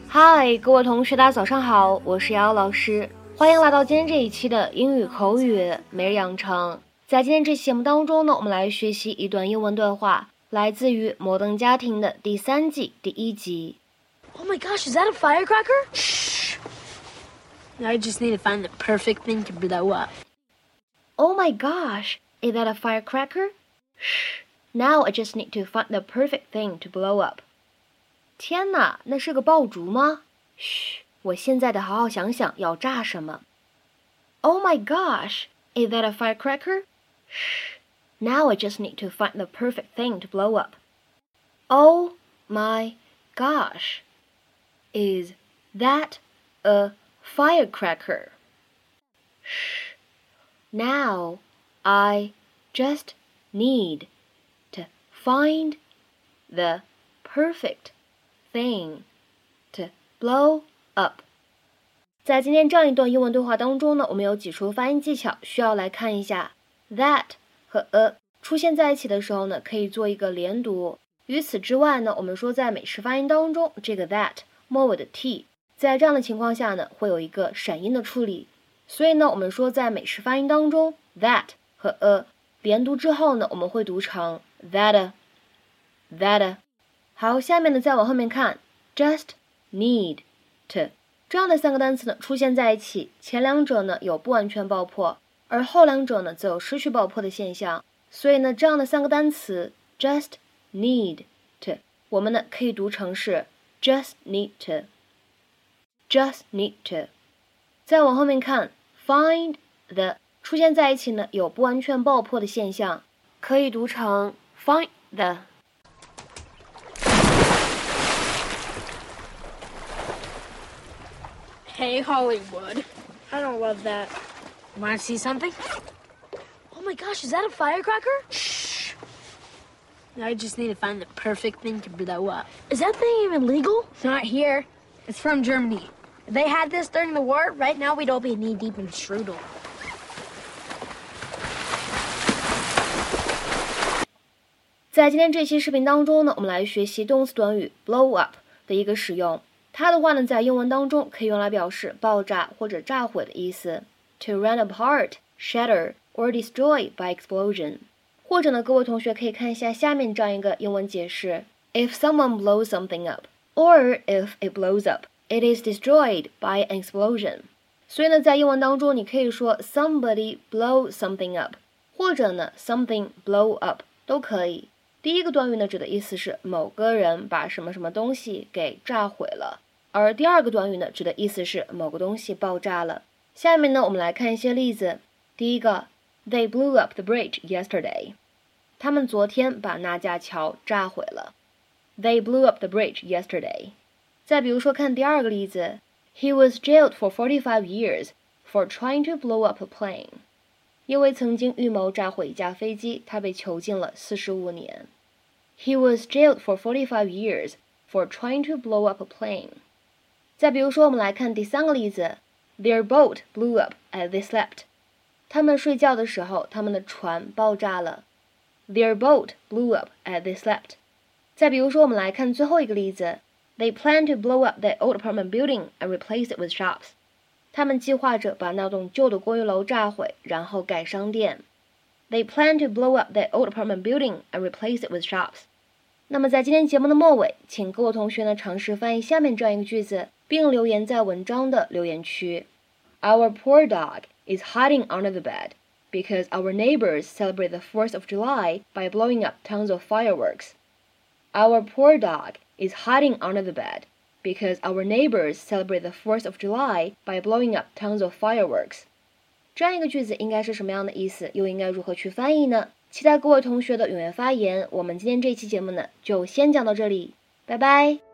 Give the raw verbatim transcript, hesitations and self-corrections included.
嗨，各位同学，大家早上好，我是瑶瑶老师，欢迎来到今天这一期的英语口语每日养成。在今天这期节目当中呢，我们来学习一段英文对话，来自于《摩登家庭》的第三季第一集。 Oh my gosh, is that a firecracker? Shh. I just need to find the perfect thing to blow up. Oh my gosh, is that a firecracker? Shh. Now I just need to find the perfect thing to blow up. 天哪，那是个爆竹吗？嘘，我现在得好好想想要炸什么。Oh my gosh, is that a firecracker? Shh. Now I just need to find the perfect thing to blow up. Oh my gosh, is that a firecracker? Shh. Now I just need to find the perfect thing to blow up. 在今天这样一段英文对话当中呢，我们有几处发音技巧需要来看一下。That 和 a 出现在一起的时候呢，可以做一个连读。与此之外呢，我们说在美式发音当中，这个 that 末尾的 t 在这样的情况下呢，会有一个闪音的处理。所以呢，我们说在美式发音当中 that 和 a 连读之后呢，我们会读成 that that。好，下面呢再往后面看 just need to 这样的三个单词呢出现在一起，前两者呢有不完全爆破，而后两者呢则有失去爆破的现象。所以呢这样的三个单词 just need to 我们呢可以读成是 just need to just need to。 再往后面看 find the 出现在一起呢有不完全爆破的现象，可以读成 find the。 Hey, Hollywood. I don't love that. Want to see something? Oh my gosh, is that a firecracker? Shh. I just need to find the perfect thing to blow up. Is that thing even legal? Not here. It's from Germany. If they had this during the war, right now we'd all be knee-deep in strudel. 在今天这期视频当中呢，我们来学习动词短语 blow up 的一个使用。它的话呢，在英文当中可以用来表示爆炸或者炸毁的意思 ，to run apart, shatter, or destroy by explosion。或者呢，各位同学可以看一下下面这样一个英文解释 ：If someone blows something up, or if it blows up, it is destroyed by an explosion。所以呢，在英文当中，你可以说 somebody blow something up， 或者呢 something blow up 都可以。第一个短语呢，指的意思是某个人把什么什么东西给炸毁了。而第二个短语呢，指的意思是某个东西爆炸了。下面呢，我们来看一些例子。第一个 ，They blew up the bridge yesterday。他们昨天把那架桥炸毁了。They blew up the bridge yesterday。再比如说，看第二个例子 ，He was jailed for forty-five years for trying to blow up a plane。因为曾经预谋炸毁一架飞机，他被囚禁了四十五年。He was jailed for forty-five years for trying to blow up a plane。再比如说，我们来看第三个例子 ，Their boat blew up as they slept。他们睡觉的时候，他们的船爆炸了。Their boat blew up as they slept。再比如说，我们来看最后一个例子 ，They plan to blow up the old apartment building and replace it with shops。他们计划着把那栋旧的公寓楼炸毁，然后盖商店。They plan to blow up the old apartment building and replace it with shops。那么在今天节目的末尾，请各位同学呢尝试翻译下面这样一个句子，并留言在文章的留言区。Our poor dog is hiding under the bed because our neighbors celebrate the fourth of July by blowing up tons of fireworks. Our poor dog is hiding under the bed because our neighbors celebrate the fourth of July by blowing up tons of fireworks. 这样一个句子应该是什么样的意思？又应该如何去翻译呢？期待各位同学的踊跃发言。我们今天这期节目呢，就先讲到这里，拜拜。